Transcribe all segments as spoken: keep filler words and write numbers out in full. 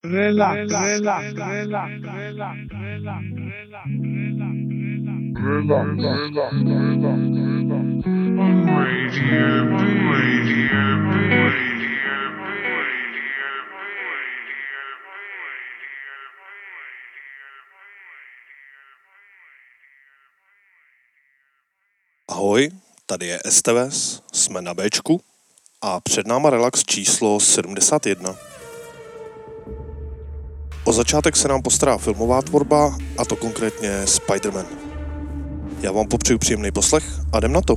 Relax, relax, relax, relax, relax, relax, Radio B, Radio B, Radio B, Radio Ahoj, tady je Esteves, jsme na Bčku a před náma relax číslo sedmdesát jedna. O začátek se nám postará filmová tvorba, a to konkrétně Spider-Man. Já vám popřeju příjemný poslech a jdem na to.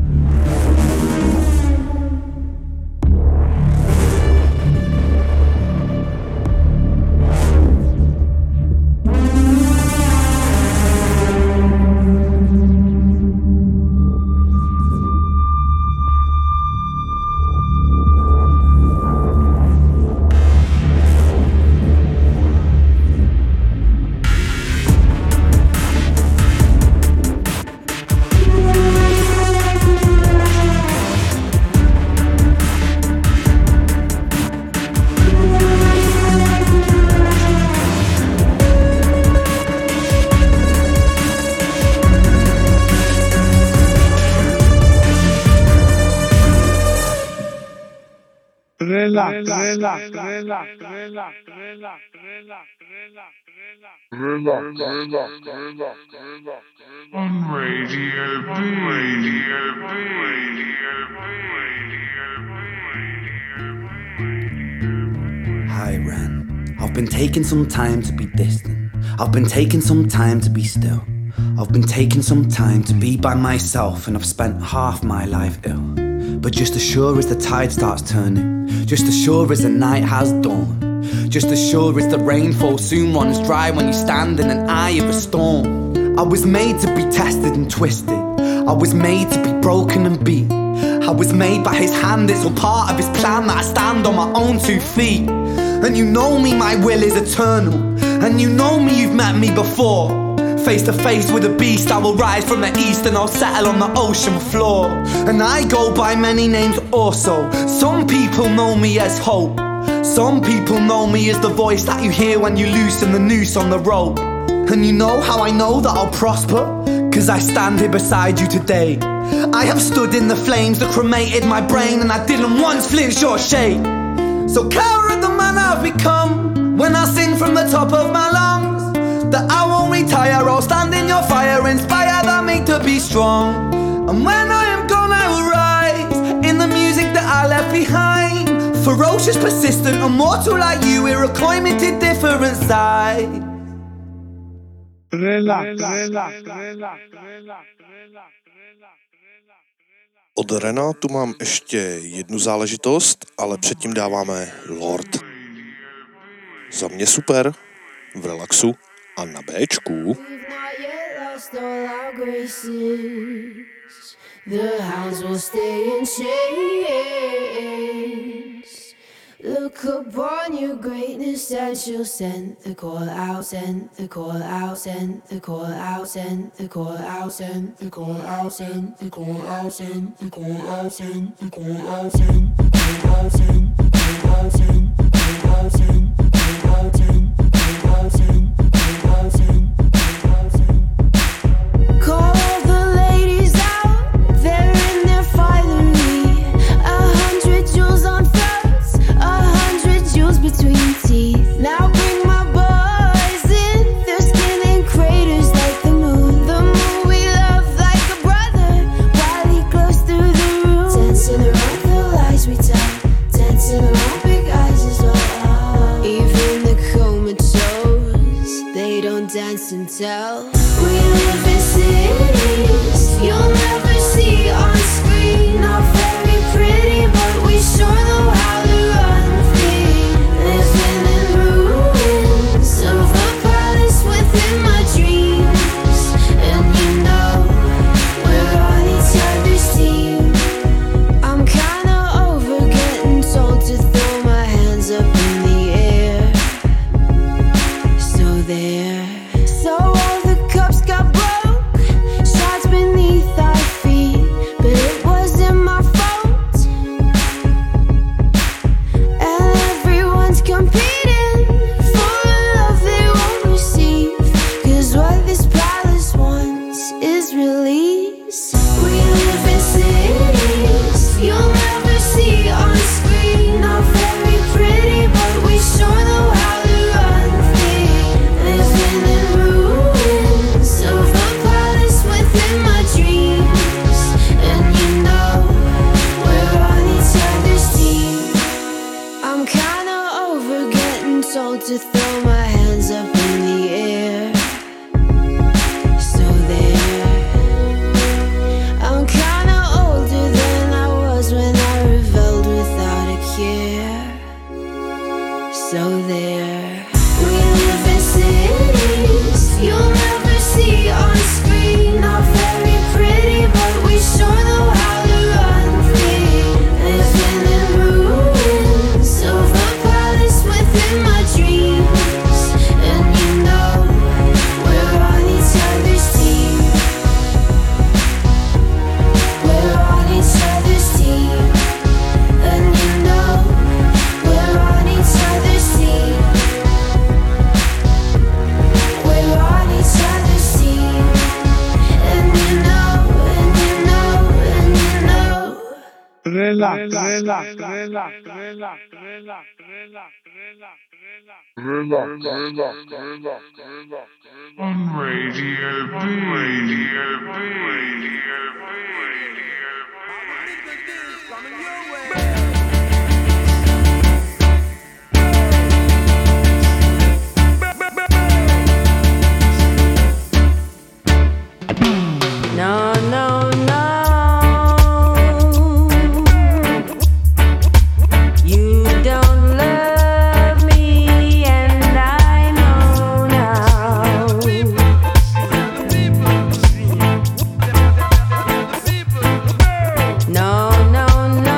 Relax, relax, relax, relax, relax, relax, relax, relax, relax, relax, on Radio B, Radio B, Radio B, Radio B. Hi, Ren. I've been taking some time to be distant. I've been taking some time to be still. I've been taking some time to be by myself, and I've spent half my life ill. But just as sure as the tide starts turning, just as sure as the night has dawned, just as sure as the rainfall soon runs dry when you stand in an eye of a storm. I was made to be tested and twisted. I was made to be broken and beat. I was made by his hand, it's all part of his plan that I stand on my own two feet. And you know me, my will is eternal. And you know me, you've met me before. Face to face with a beast, I will rise from the east and I'll settle on the ocean floor. And I go by many names also. Some people know me as Hope. Some people know me as the voice that you hear when you loosen the noose on the rope. And you know how I know that I'll prosper? Cause I stand here beside you today. I have stood in the flames that cremated my brain, and I didn't once flinch or shake. So cower at the man I've become when I sing from the top of my lungs. That I won't retire, I'll stand in your fire, inspired by me to be strong. And when I am gone I will rise in the music that I left behind. Ferocious, persistent, immortal like you, we're a climate to different side. Relax, relax, relax, relax, relax. Od Rena tu mám ještě jednu záležitost, ale předtím dáváme Lord. Za mě super, v relaxu a na Bčku. The hounds will stay in chains. Look upon your greatness and she'll send the call out, send the call out, send the call out, send the call out, send the call out, send the call out, send the call out, send the call out, send the call out, send the call out, send the call out, send the call out, send the call out, send the call out, send the call out, send. Call all the ladies out, they're in their finery. A hundred jewels on throats, a hundred jewels between teeth. Now bring my boys in, their skin in craters like the moon. The moon we love like a brother, while he glows through the room. Dancing around the lies we tell, dancing around big eyes as well. Even the comatose, they don't dance and tell. We live in cities you'll never see on screen. Not very pretty, but we sure know how to run free. Living in ruins of a palace within my dreams. And you know we're on each other's team. I'm kinda over getting told to throw my hands up in the air. So there. So all the soul to throw my hands up in the air. So there, I'm kinda older than I was when I reveled without a care. So there, we live in cities you'll never see on screen. Not very pretty, but we sure know how to run free. Living in ruins of a palace within my dreams. And you know we're on each other's team. We're on each other's team. And you know we're on each other's team. We're on each other's team. And you know, and you know, and you know. Relax, relax, relax, relax, relax, relax, on Radio B. Radio B. Radio B. No, no, no. You don't love me, and I know now. No, no, no.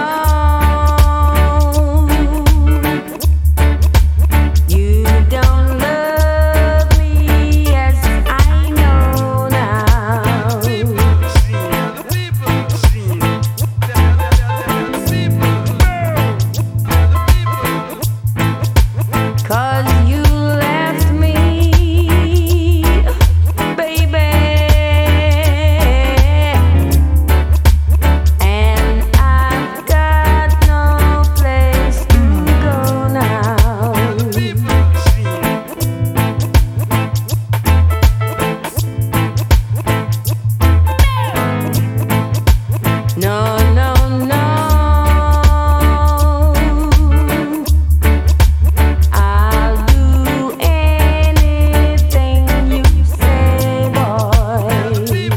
You don't love me as I know now. 'Cause you left me, baby, and I've got no place to go now. No, no, no. I'll do anything you say, boy.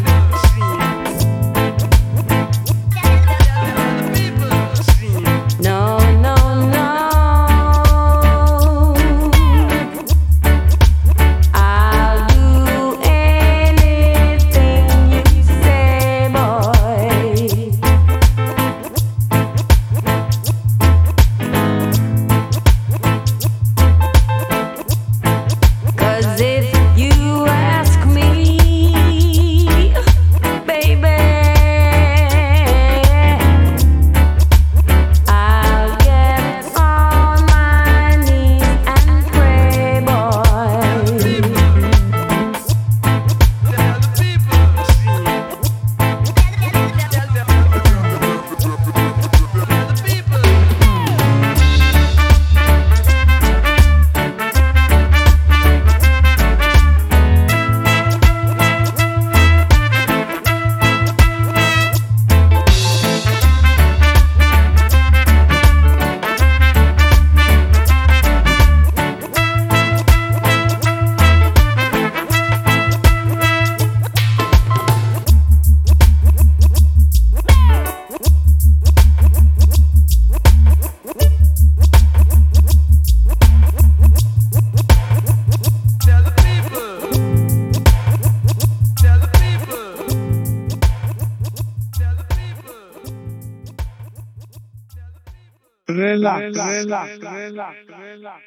No, no, no. I'll do anything you say, boy. 'Cause if you ask me, baby, I'll get on my knees and pray, boy. Relax, relax, relax, relax.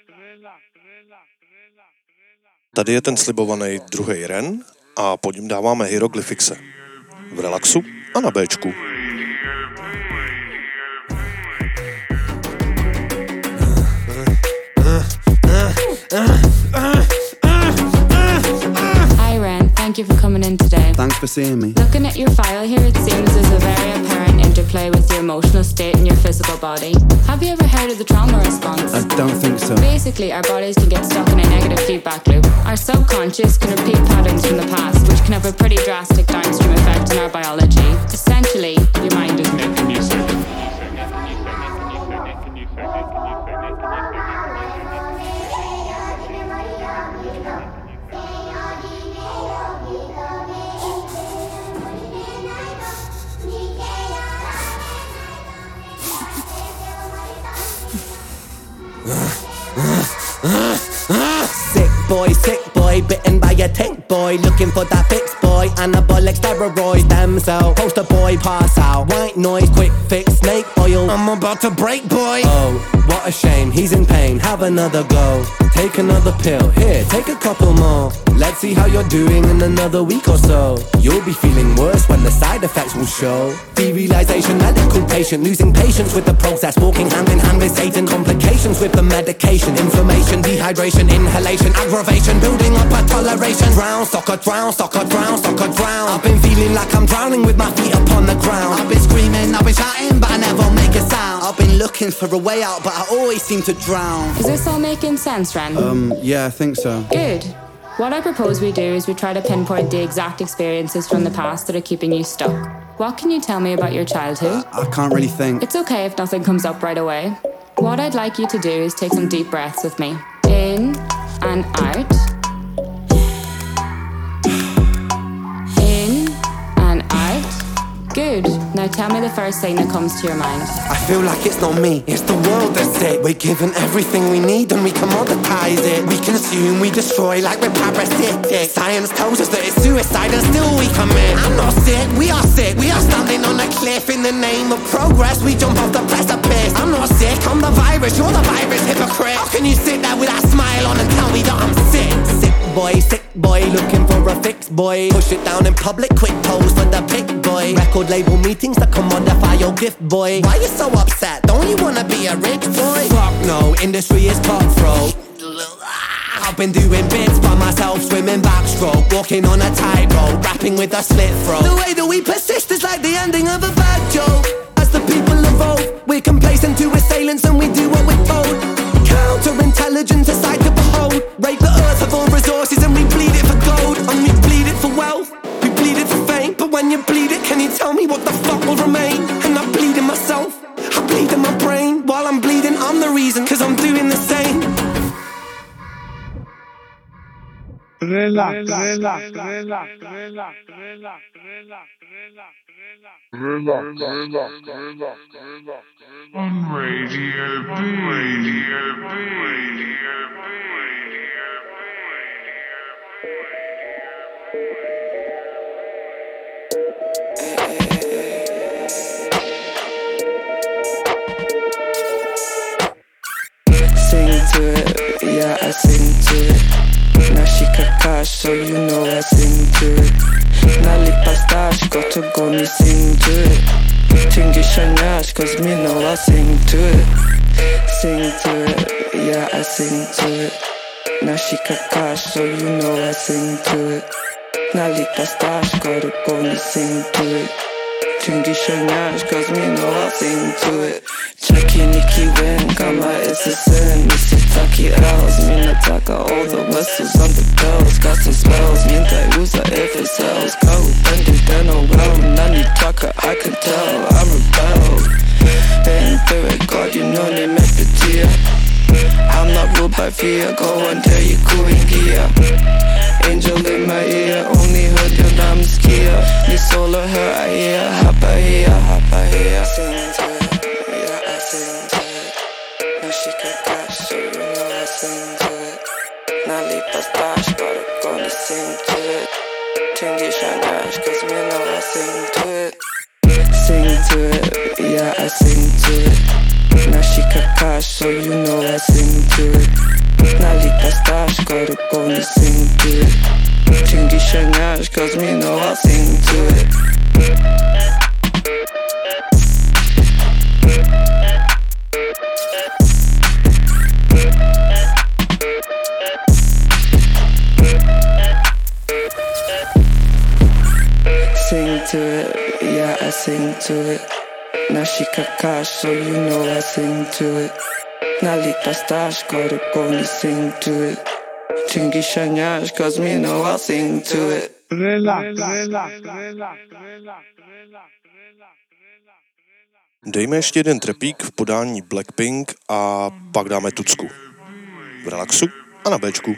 Tady je ten slibovaný druhý ren a po něm dáváme Hieroglyphixe. V relaxu a na Bčku. Hi Ren, thank you for coming in today. Thanks for seeing me. Looking at your file here, it seems there's a very apparent interplay with your emotional state and your physical body. Have you ever heard of the trauma response? I don't think so. Basically, our bodies can get stuck in a negative feedback loop. Our subconscious can repeat patterns from the past, which can have a pretty drastic downstream effect on our biology. Essentially, your mind is making you sick. boy, sick boy, bitten by a tick boy, looking for that fix boy, anabolic steroids, damn cell, poster boy, pass out, white noise, quick fix, snake oil, I'm about to break boy. Oh, what a shame, he's in pain, have another go, take another pill, here, take a couple more, let's see how you're doing in another week or so, you'll be feeling worse when the side effects will show, derealization, medical patient, losing patience with the process, walking hand in hand with Satan, complications with the medication, inflammation, dehydration, inhalation, aggravation, building up a toleration, drown, soccer, drown, soccer, drown, soccer, drown, I've been feeling like I'm drowning with my feet upon the ground, I've been screaming, I've been shouting, but I never make a sound, I've been looking for a way out, but I always seem to drown. Is this all making sense, Ren? Um, yeah, I think so. Good. What I propose we do is we try to pinpoint the exact experiences from the past that are keeping you stuck. What can you tell me about your childhood? I can't really think. It's okay if nothing comes up right away. What I'd like you to do is take some deep breaths with me. In and out. In and out. Good. Now tell me the first thing that comes to your mind. I feel like it's not me, it's the world that's it. We're given everything we need and we commoditize it. We consume, we destroy like we're parasitic. Science tells us that it's suicide and still we commit. I'm not sick, we are sick. We are standing on a cliff in the name of progress. We jump off the precipice. I'm not sick, I'm the virus, you're the virus, hypocrite. How can you sit there with that smile on and tell me that I'm sick? Sick boy, sick boy, looking for a fix boy. Push it down in public, quick pose for the pick boy. Record label meetings that commodify your gift boy. Why you so upset? Don't you wanna be a rich boy? Fuck no, industry is cutthroat. I've been doing bits by myself, swimming backstroke, walking on a tightrope, rapping with a slit throat. The way that we persist is like the ending of a bad joke. As the people evolve, we're complacent to assailants and we do what we're told. Counterintelligence, a sight to behold. Rape the earth of all resources and we bleed it for gold. And we bleed it for wealth, we bleed it for fame. But when you bleed it, can you tell me what the fuck will remain? And I bleed in myself, I bleed in my brain. While I'm bleeding, I'm the reason, cause I'm doing the same. Relax, relax, relax, relax, relax, relax, on Radio B, Radio B, Radio B, Sing to it, yeah, I sing to it. Now she kakash, so you know I sing to it. Nali pastash, got to go me sing to it. Tingy shanyash, cause me know I sing to it. Sing to it, yeah, I sing to it. Now she kakash, so you know I sing to it. Nali pastash, got to go me sing to it. Tingy shanyash, cause me know I sing to it. Chucky Nikki Win, Gamma is a sin. Missy Taki L's, Mina Taka, all the whistles on the bells. Got some spells, Minta usa if it sells. Kau bending deno well, Nani Taka, I can tell, I'm rebelled. Ain't do it, God, you know they make the tear. I'm not ruled by fear, go and tell you cooling gear. Angel in my ear, only heard your name skia. Ni solo her, I hear, hapa here, hapa here. Sing to it. Sing to it. Now she kakash, so you know I sing to it. Nali pastash, gotta go and sing to it. Tingy shanash, cause me know I sing to it. Sing to it, yeah, I sing to it. Now she kakash, so you know I sing to it. Nali pastash, gotta go and sing to it. Tingy shanash, cause me know I sing to it. Sing to it, yeah, I sing to it. Now she kakash, so you know I sing to it. Nali pastash, gotta go and sing to it. Tingy shanyash, cause me know I sing to it. Relax, relax, relax, relax. Dejme ještě jeden trepík v podání Blackpink a pak dáme tucku. V relaxu a na béčku.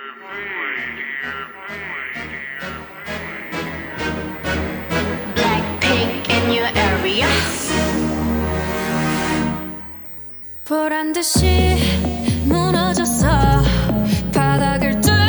Blackpink in your area. 보란 듯이 무너졌어 바닥을 뚫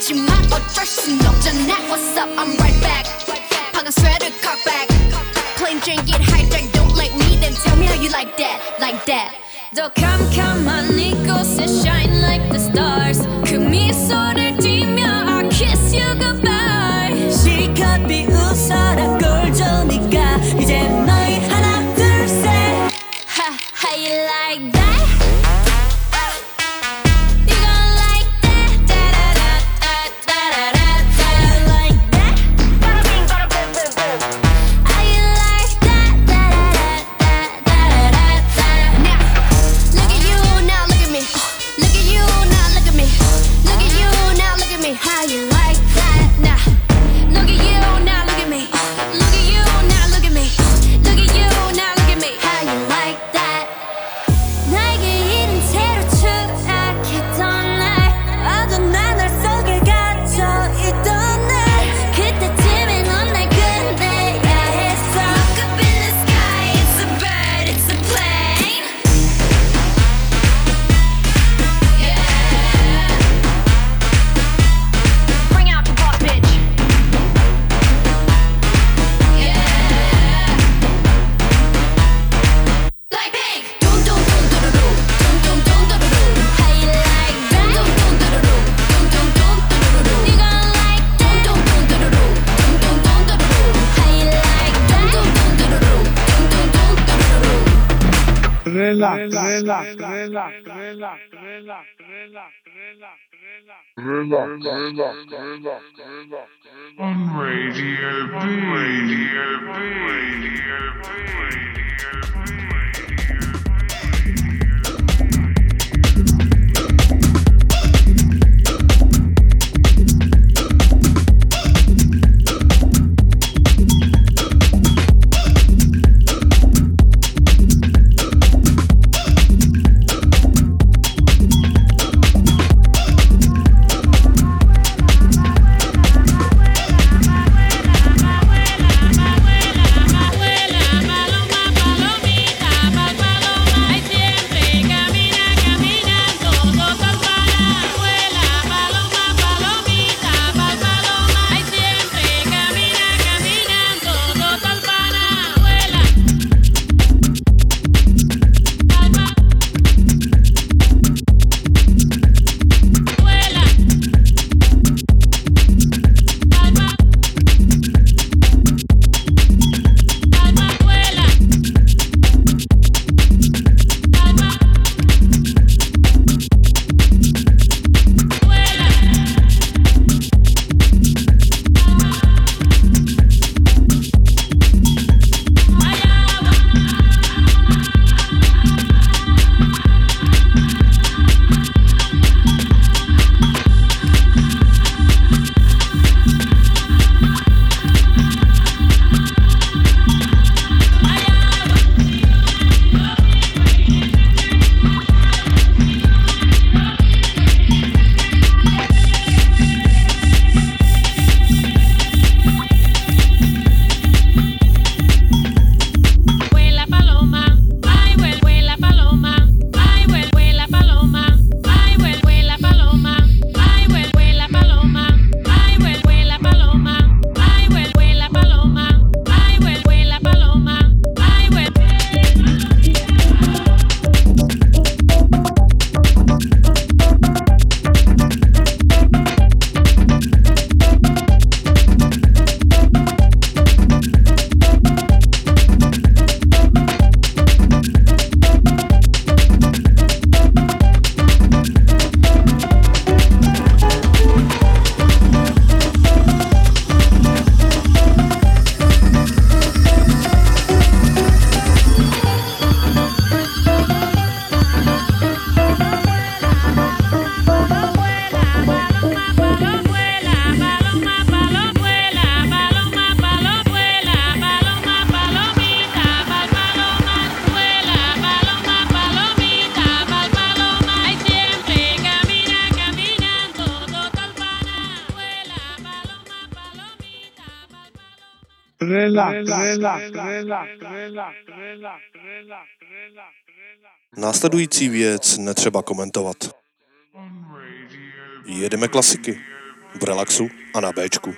있지만 어쩔 순 없잖아. What's up? I'm right back. 방금 sweater cock back. Plain Jane get hijacked. Don't like me, then tell me how you like that, like that. 더 캄캄한 이곳에 shine like the stars. 그 미소를 띠며 I kiss you goodbye. 시간이 웃어라 꼴조니까 이제 너희 하나 둘 셋. Ha, how you like that? You gon' like that? Da da da da da da da. You like that? Bada bing, bada boom, boom, boom. How you like that? Da da da da da da da. Now, look at you, now look at me. Look at you, now look at me. Look at you, now look at me. How you like that? Now, look at you, now look at me. Look at you, now look at me. Look at you, now look at me. How you like that? 나에게 이른 채로 추락했던 날 어둠한 날 속에 갇혀 있던 날 그때쯤에 넌 날 끝내야 했어. Look up in the sky, it's a bird, it's a plane. Yeah. Bring out the butt, bitch. Yeah. Like pink. Dum dum dum dum dum dum dum dum dum. How you like that? Dum dum dum dum dum dum dum dum. You gon' like that? Dum dum dum dum dum dum dum dum. How you like that? Dum dum dum dum dum dum dum. Relax, relax, relax, relax, relax, relax, relax, relax, relax, relax. On Radio B, Radio B, Radio B, Radio B. Následující věc netřeba komentovat. Jedeme klasiky. v Relaxu a na Béčku.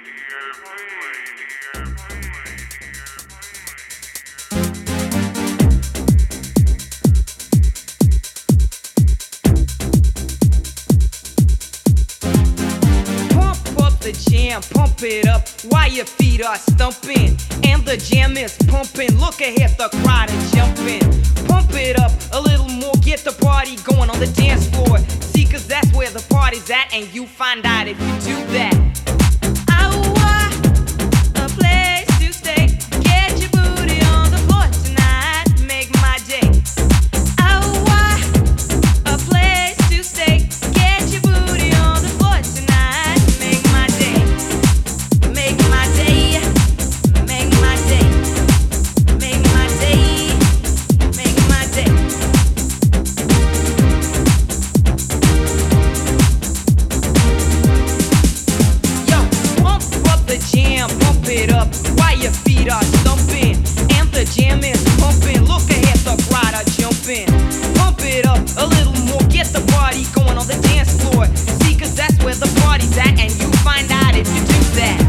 Pump it up while your feet are stumping and the jam is pumping. Look ahead, the crowd is jumping. Pump it up a little more, get the party going on the dance floor. See, cause that's where the party's at, and you find out if you do that. I want a place to stay. Get your booty on the floor tonight, make my day. I want a place to stay. Get your booty on the floor tonight, make my day. Make my day, make my day, make my day, make my day. Yo, pump up the jam, pump it up while your feet are stumping and the jam is pumping. Look ahead, the crowd are jumping. Pump it up a little more, get the party going on the dance floor. See, cause that's where the party's at, and you find out if you do that.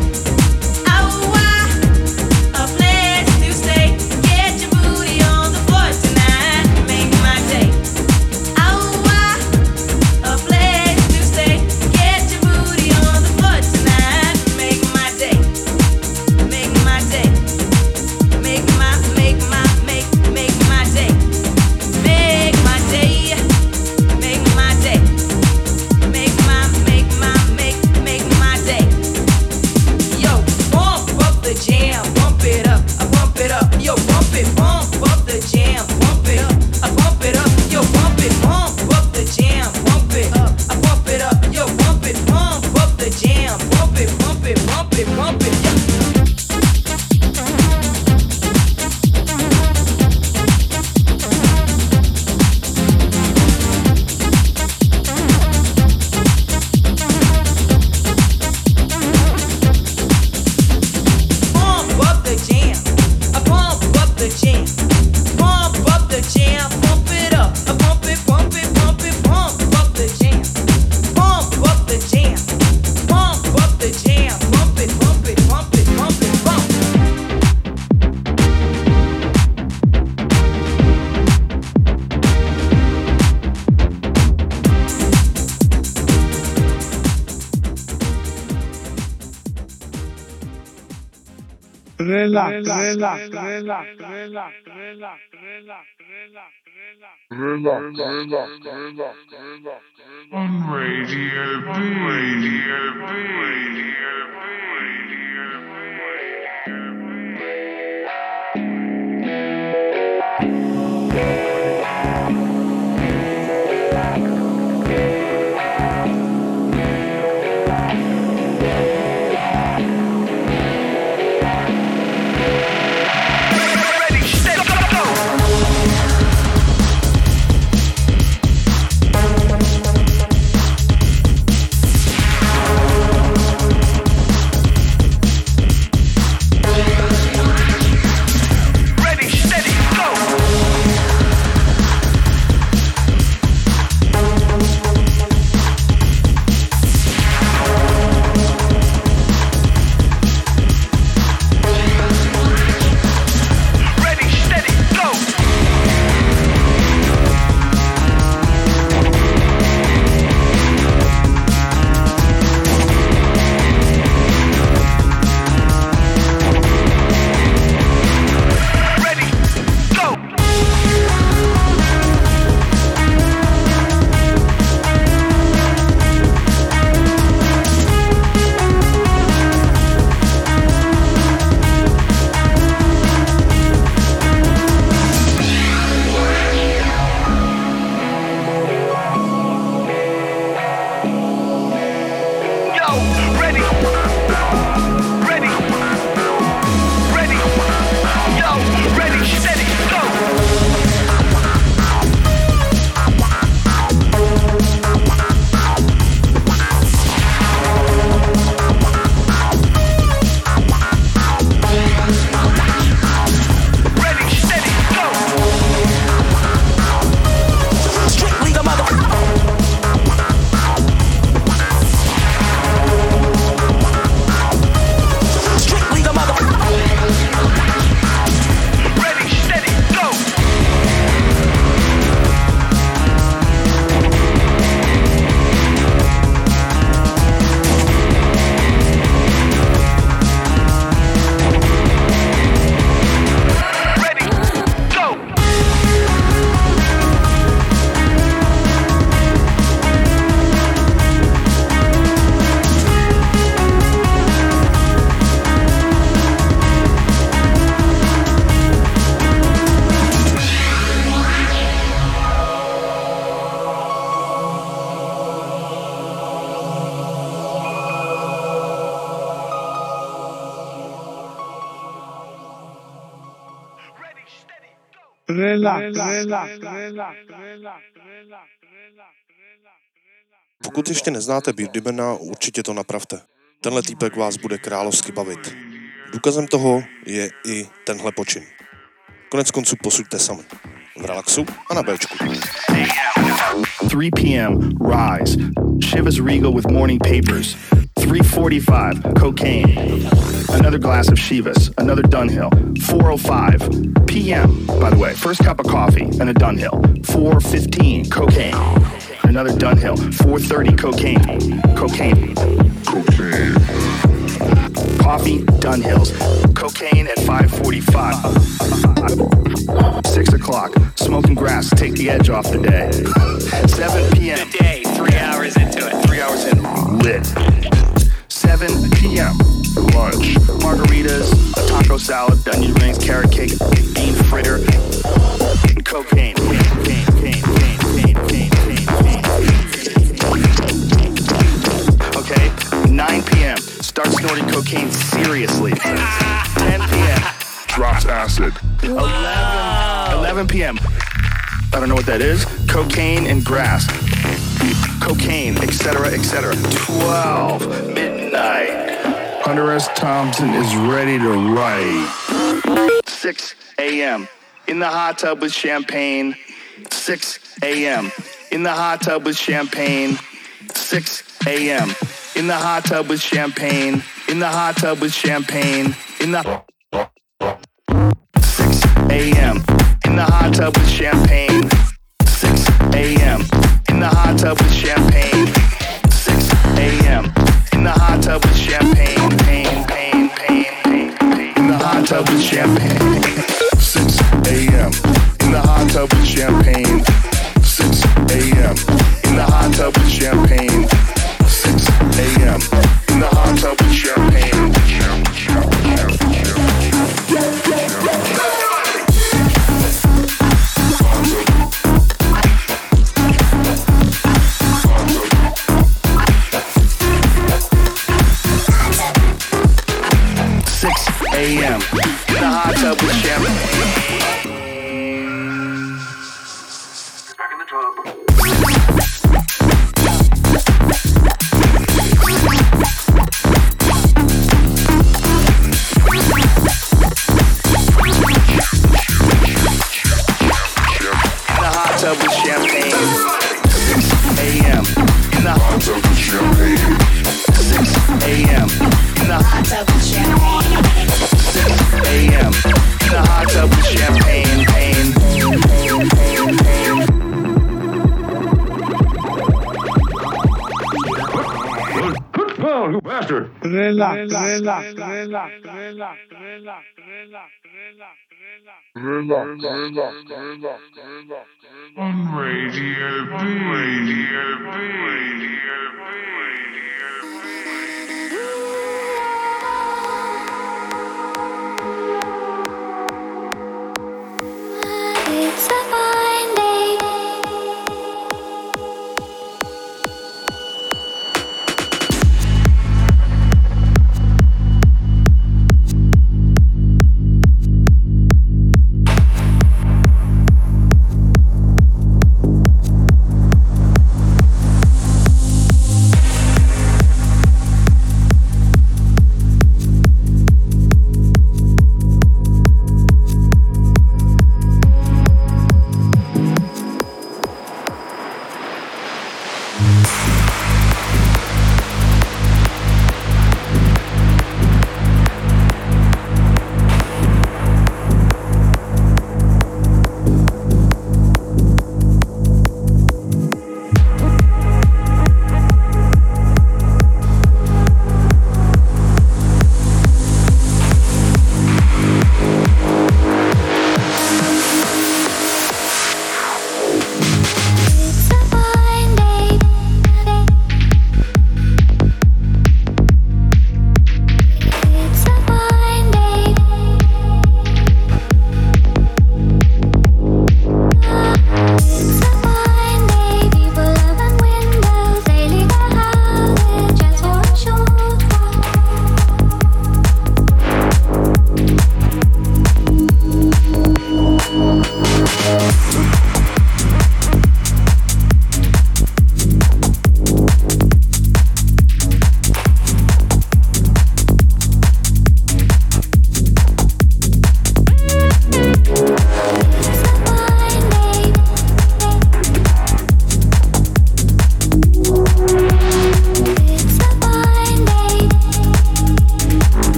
Relax, relax, relax, relax, relax, relax, on Radio B, Radio B, Radio B, Radio B. Pokud ještě neznáte Beardymana, určitě to napravte. Tenhle týpek vás bude královsky bavit. Důkazem toho je i tenhle počin. Konec konců posuďte sami. V relaxu a na Bčku. three p.m. Rise. Chivas Regal with morning papers. three forty-five. Cocaine. Another glass of Chivas. Another Dunhill. four oh five p.m. By the way, first cup of coffee and a Dunhill. four fifteen. Cocaine. Another Dunhill. four thirty. Cocaine. Cocaine. Cocaine. Coffee, Dunhills. Cocaine at five forty-five. Six o'clock. Smoking grass. Take the edge off the day. seven p.m. The day. Three hours into it. Three hours in. Lit. seven p.m. Lunch. Margaritas, a taco salad, onion rings, carrot cake, bean fritter, cocaine. Cocaine, cocaine, cocaine, cocaine, cocaine, cocaine. Okay. nine p.m. Start snorting cocaine seriously. ten p.m. Drops acid. eleven, eleven p.m. I don't know what that is. Cocaine and grass. Cocaine, et cetera, et cetera. twelve, midnight. Hunter S. Thompson is ready to write. six a.m. In the hot tub with champagne. six a.m. In the hot tub with champagne. six a.m. In the hot tub with champagne. In the hot tub with champagne. In the six a.m. In the hot tub with champagne. six a.m. In the hot tub with champagne. six a.m. In the hot tub with champagne. Pain, pain, pain, pain, pain. In the hot tub with champagne. six a.m. In the hot tub with champagne. six a.m. In the hot tub with champagne. six a.m. In the hot tub with champagne. six a.m. In the hot tub with champagne. Back in the tub. With champagne. six a.m. In the hot tub with champagne. six a.m. In the hot tub with champagne. six a.m. In the hot tub with champagne. Pain, pain, pain, pain, pain. Oh, you bastard! Relax, relax, relax, relax, relax, relax, On Radio B. Radio B. Radio It's a fine day.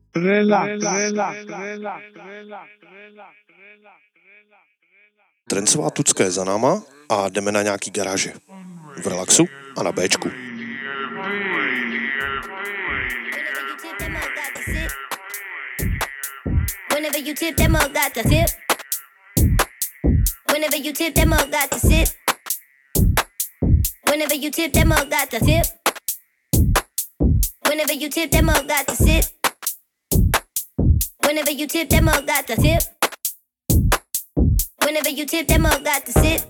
Relax, relax, relax, relax. Trencová tucka je za náma a jdeme na nějaký garáže. V relaxu a na Bčku. Whenever you tip, that mug got the tip. Whenever you tip, that mug got the sip. Whenever you tip, that mug got the tip. Whenever you tip, that mug got the sip. Whenever you tip, that mug got the tip. Whenever you tip, that mug got the sip.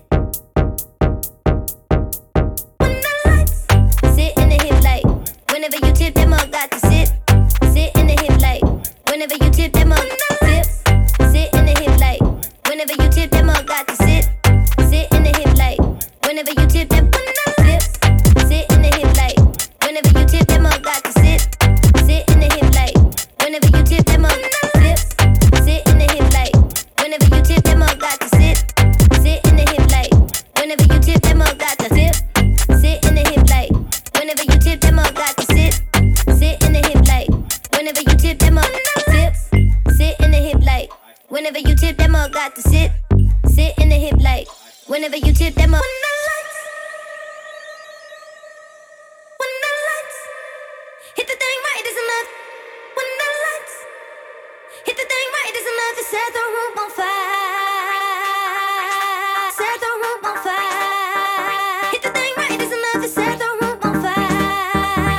When the lights sit in the hip light. Whenever you tip, that mug got the sip. Sit in the hip light. Whenever you tip, that mug tip. Sit in the hip light. Whenever you tip, that mug got the sip. Sit in the hip light. Whenever you tip, that tip. Sit in the hip light. Whenever you tip, that mug got the sip. Sit in the hip light. Whenever you tip, that mug tip. Sit in the hip light. Whenever you tip, that mug got the sip. Sit in the hip light. Whenever you tip, that mug got the tip. Sit in the hip light. Whenever you tip, that mug got the sip. Sit in the hip light. Whenever you tip, that mug tip. Sit in the hip light. Whenever you tip, that mug got the sip. Sit in the hip light. Whenever you tip, that mug. When the lights hit the thing right, it's enough. When the lights hit the thing right, it's enough to set the room on fire. Set the room on fire. Hit the thing right, it's enough to set the room on fire.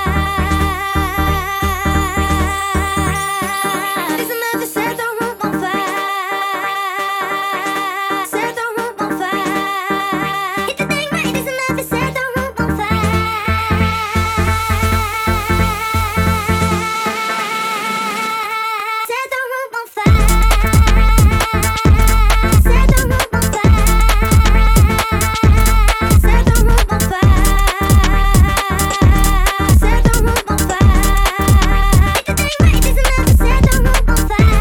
It's enough to set the room on fire. Set the room on fire. Hit the thing right, it's enough to set the room on fire. Set the room on fire. Set the room on fire. Set the room on fire. Set the room on fire. Hit the thing right, it's enough to set the room on fire.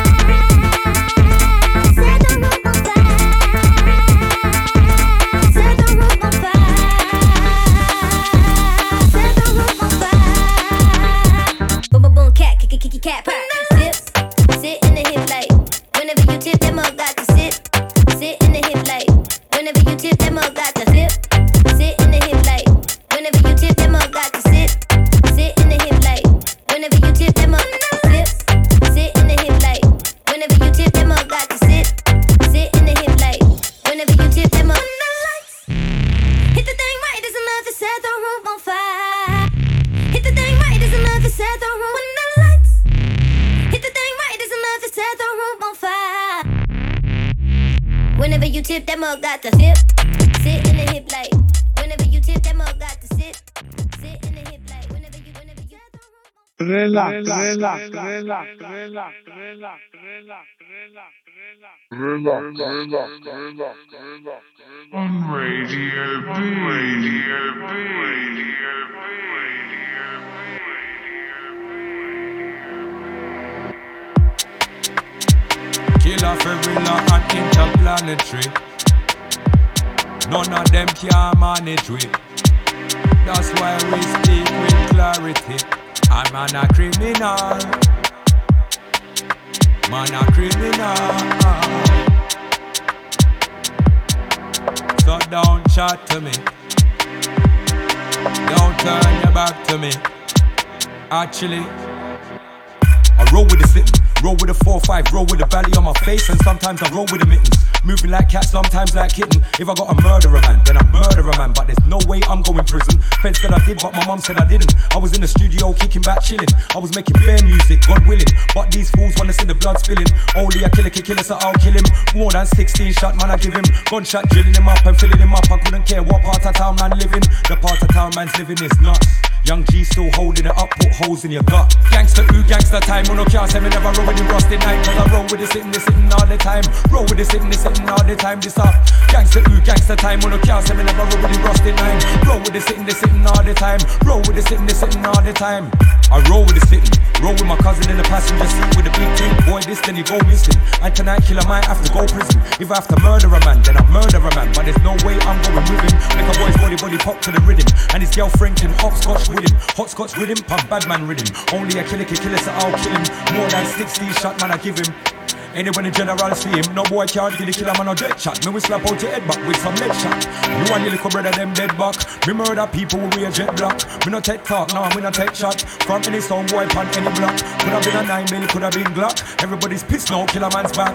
Set the room on fire. Set the room on fire. Set the room on fire. Boom boom boom, cat, kicky kicky cat, purr. Dip, sit in the hip light. Whenever you tip, that mug got the sip. Sit in the hip light. Whenever you tip, that mug got the tip. Sit in the hip light. Whenever you tip, that mug got the sip. Sit in the hip light. Whenever you tip, that mug tip. Sit in the hip light. Whenever you tip, that mug got the sip. Sit in the hip light. Whenever you tip, that mug. Hit the thing right, it's enough to set the room on fire. Hit the thing right, it's enough to set the room. When the lights hit the thing right, it's enough to set the room on fire. Whenever you tip, that mug got the tip. Sit in the hip light. Whenever you tip, that mug got the sip. Sit in the hip light. Whenever you, whenever you. Relax, relax, relax, relax, relax, relax, relax, relax. Relax, relax, relax, relax. On Radio B. Radio B. Radio B. Kill off every law and interplanetary. None of them can manage with. That's why we speak with clarity. I'm an a criminal. Man a criminal. So don't chat to me. Don't turn your back to me. Actually, I roll with the sitting, roll with a four five, roll with the belly on my face, and sometimes I roll with the mittens. Moving like cat, sometimes like kitten. If I got a murderer man, then I murder a man. But there's no way I'm going prison. Feds said I did, but my mum said I didn't. I was in the studio kicking back, chilling. I was making fair music, God willing. But these fools wanna see the blood spilling. Only a killer can kill us, so I'll kill him. More than sixteen shot, man, I give him. Gunshot drilling him up and filling him up. I couldn't care what part of town man living. The part of town man's living is nuts. Young G still holding it up, put holes in your gut. Gangster ooh, gangster time, on no can't say me never roll with the rusted night. Cause I roll with the sitting, the sitting all the time. Roll with the sitting, the sitting all the time. This up, gangster ooh, gangster time, on no can't say me never roll with the rusted night. Roll with the sitting, the sitting all the time. Roll with the sitting, the sitting all the time. I roll with the sitting, Roll with my cousin in the passenger seat with a big thing. Boy, this then you go missing. And tonight killer might have to go prison. If I have to murder a man, then I murder a man. But there's no way I'm going with him. Make a boy's body body pop to the rhythm. And his girlfriend can hopscotch with him. Hot-scotch with him, pump bad man rhythm. Only a killer can kill us, so I'll kill him. More than sixty shot man I give him. Anyway, the general see him, no boy can't kill the killer man or dead shot. Me we slap out your head back with some lead shot. You and your little brother them dead back. Me murder people with wear jet black. Me no take talk, no, me no take shot. From any sound boy pan any block. Could have been a nine mil, could have been Glock. Everybody's pissed now, killer man's back.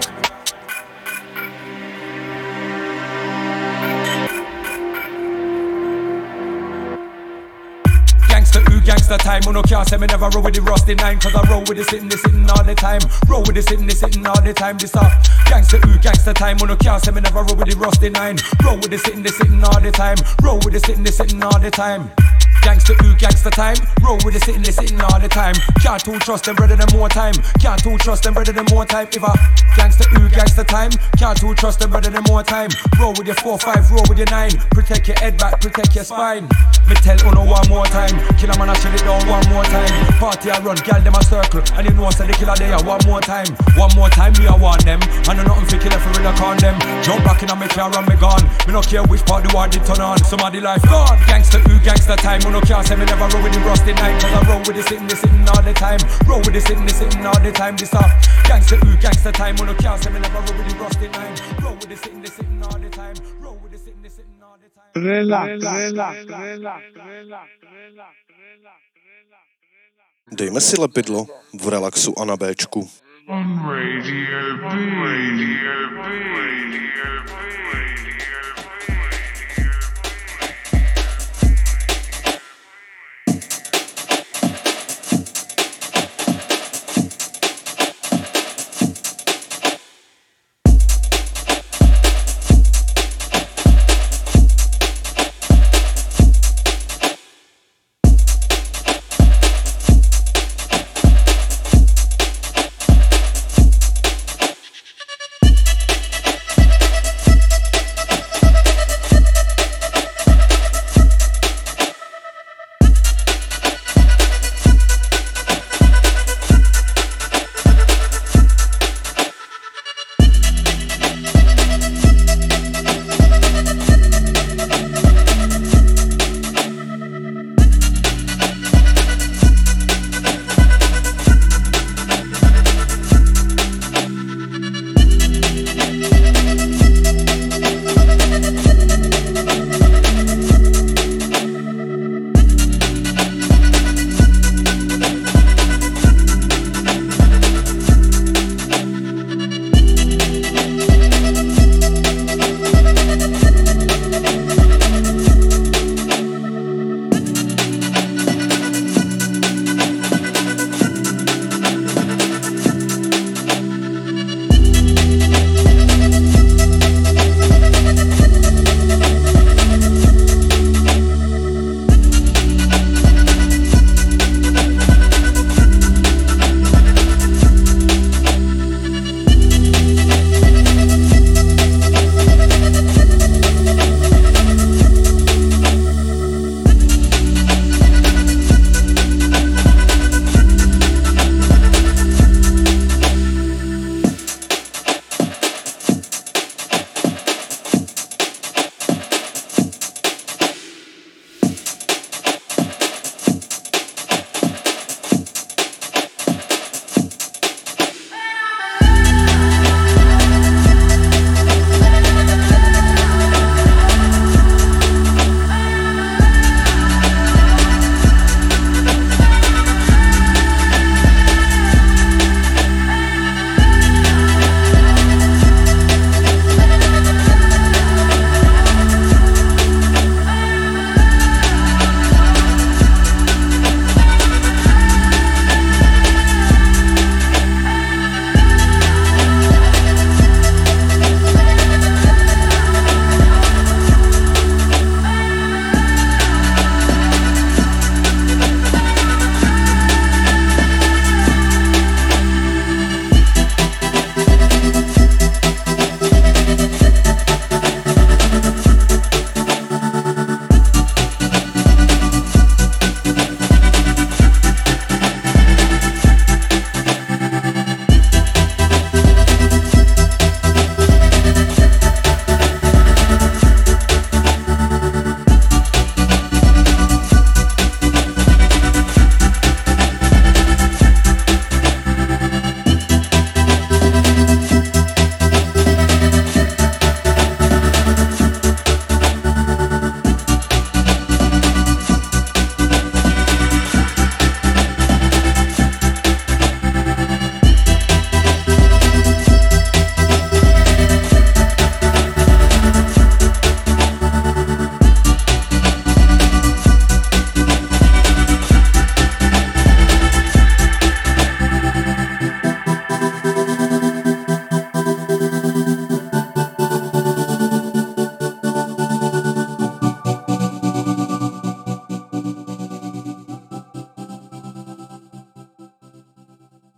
Gangsta, ooh, gangsta time. Uno can't say me never roll with the rusty nine. Cause I roll with the sitting, the sitting all the time. Roll with the sitting, the sitting all the time. This up. Gangsta, ooh, gangsta time. Uno can't say me never roll with the rusty nine. Roll with the sitting, the sitting all the time. Roll with the sitting, the sitting all the time. Gangsta, ooh, gangsta time. Roll with the sitting, they sitting all the time. Can't too trust them, brother, them more time. Can't too trust them, brother, them more time. If I gangsta, ooh, gangsta time. Can't too trust them, brother, them more time. Roll with your four, five, roll with your nine. Protect your head back, protect your spine. Me tell Uno one more time. Killer man, I shut it down one more time. Party I run, gal them a circle. And you know I said the killer there one more time. One more time, me I want them. I know nothing for killer for real, I con them. Jump back in and me car and me gone. Me no care which part the war did turn on. Somebody life gone. Gangsta, ooh, gangsta time. Uno can't say me never roll with the rusty nine. Cause I roll with the sitting, the sitting all the time. Roll with the sitting, the sitting all the time. This up. Gangsta, ooh, gangsta time. Uno can't say me never roll with the rusty nine. Roll with the sitting, the sitting all the time. Roll with the sitting, the sitting all the time. Relax, relax, relax, relax. Dejme si lepidlo v relaxu a na Béčku. On Radio B. Radio B. Radio B.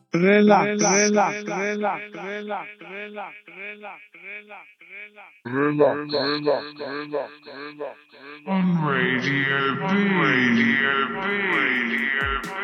Relax, relax, relax, relax, relax, relax, relax, Relax, relax, relax, relax. On Radio B. Radio B. Radio B.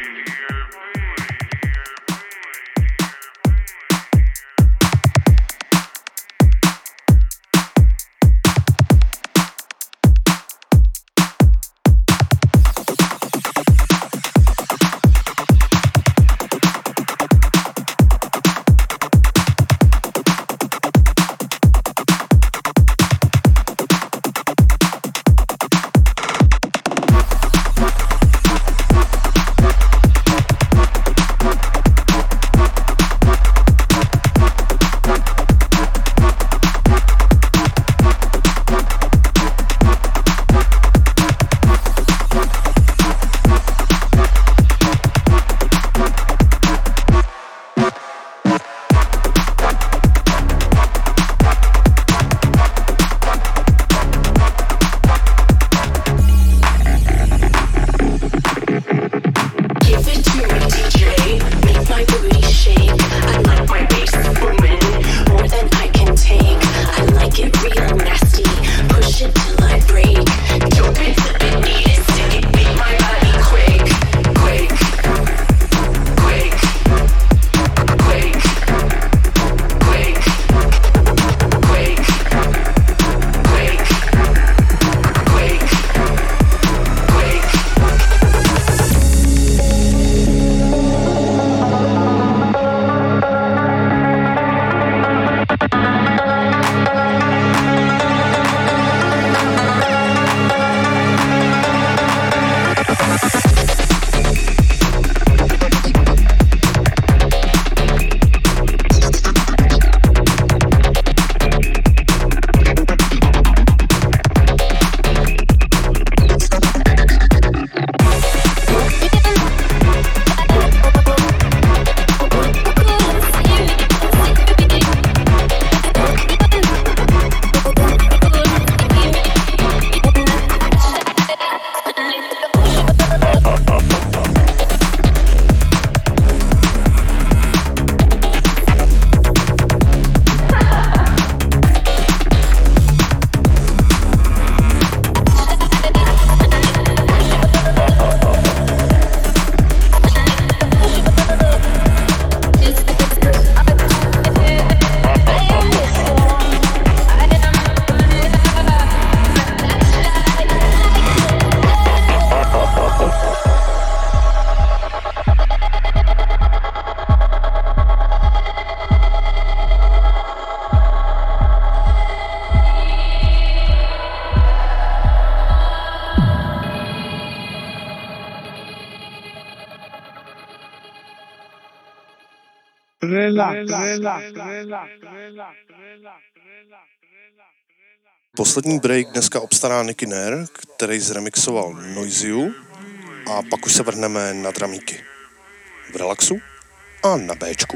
relax, relax, relax, relax, relax. Poslední break dneska obstará Nicky Nair, který zremixoval Noiziu, a pak už se vrhneme na dramíky. V relaxu a na Bčku.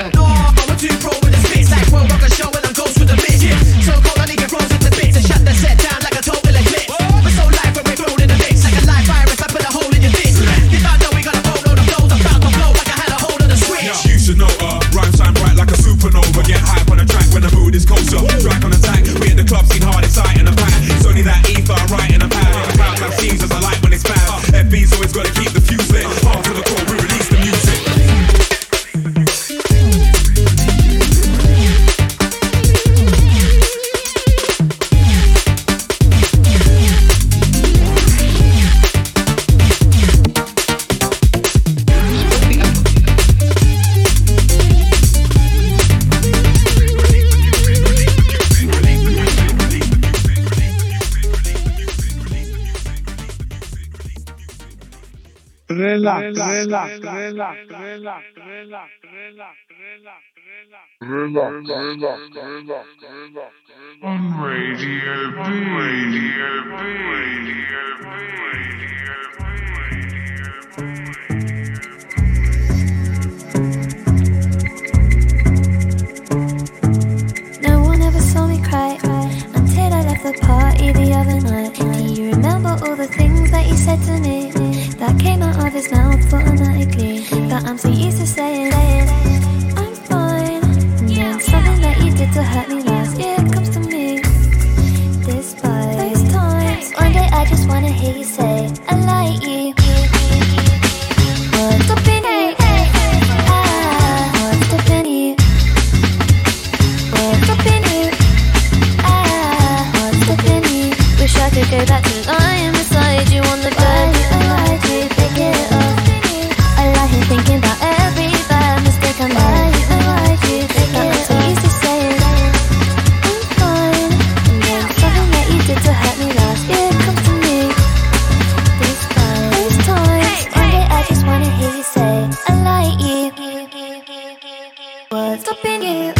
No, I'm too pro with the spits. Like World Rock a show when I'm ghost with the bitch. So cold I need get frozen to bits and shut the set down like a total eclipse. We're so live when we're thrown in the mix. Like a live virus, I put a hole in your dick. You don't know we got a boatload of flows. I'm about to blow like I had a hold on the switch. You should know, uh, rhyme shine bright like a supernova. Get hype on the track when the mood is kosher. Track on attack, we hit the club scene hard, it's sight in the pack. It's only that ether, right in the pad. The crowd have scenes as I like when it's bad. F B's always gotta keep the fuse lit. After the call, we release the music. Relax, relax, relax, relax, relax, relax, relax, Relax, relax, relax, relax. On Radio B. Radio B. Radio B. No one ever saw me cry until I left the party the other night. Do you remember all the things that you said to me that came out of his mouth automatically? That I'm so used to saying, I'm fine. And then something that you did to hurt me last year comes to me. Despite those times, one day I just wanna hear you say, I like you. What's up in you? Ah, what's up in you? What's up in you? Ah, what's up in you? Wish I could go back to lying beside you on the bed. I like you, pick it up. I lie here thinking about every bad mistake I made. I like you, pick it up. I'm so used to saying I'm fine. And then something that you did to hurt me last year comes to me. These times, these times, one day I just wanna hear you say I like you. What's up in you?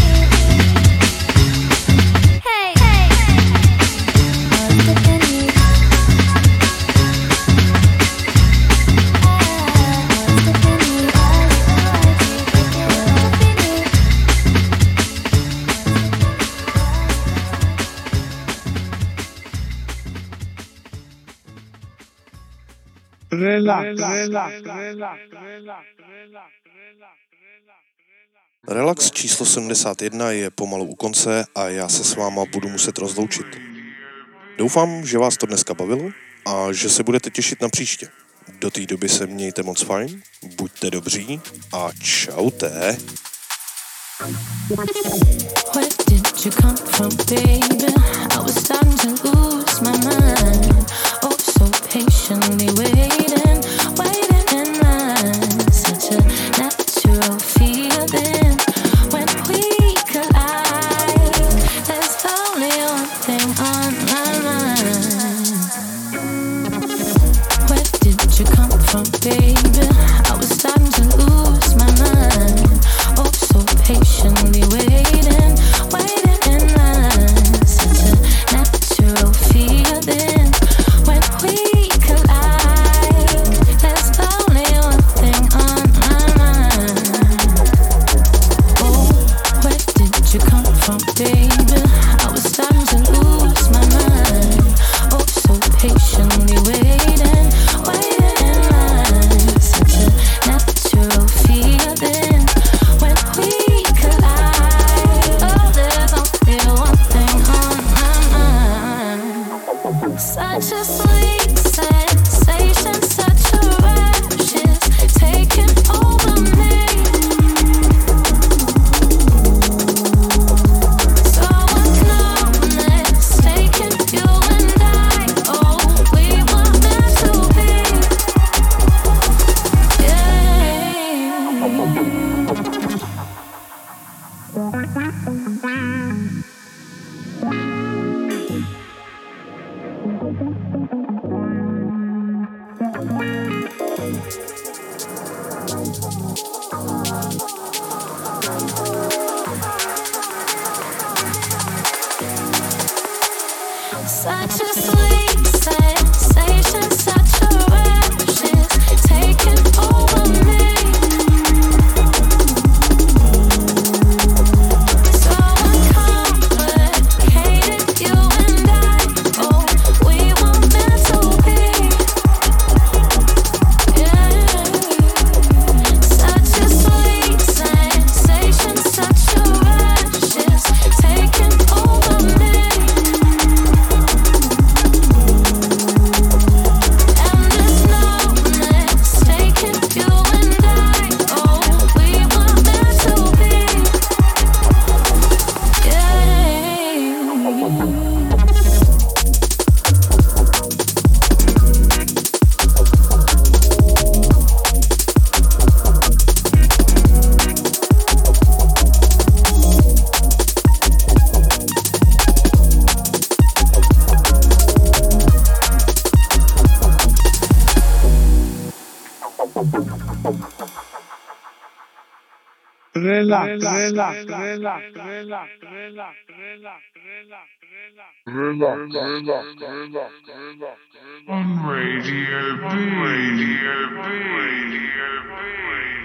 Hey, hey, what's up in you? relax, relax, relax, relax, Relax číslo sedmdesát jedna je pomalu u konce a já se s váma budu muset rozloučit. Doufám, že vás to dneska bavilo a že se budete těšit na příště. Do té doby se mějte moc fajn, buďte dobří a čaute. Where did you come from, baby? I was starting to lose my mind. Oh, so patiently waiting, waiting in line. Such a natural feeling when we collide. There's only one thing on my mind. Where did you come from, baby? I was starting to lose my mind. Oh, so patiently waiting, waiting in line. Such a natural feeling when we collide. There's only one thing on my mind. Oh, where did you come from, baby? I was starting to lose my mind. Oh, so patiently waiting, waiting in line. Such a natural feeling when we collide. Oh, there's only one thing on my mind. Such a sweet sensation, such a rush is taking over me. So much numbness taking you and I. Oh, we were meant to be. Such a sweet sensation, such a rush is taking over me. relax, relax, relax, relax, relax, relax, on Radio B. Radio B. Radio B.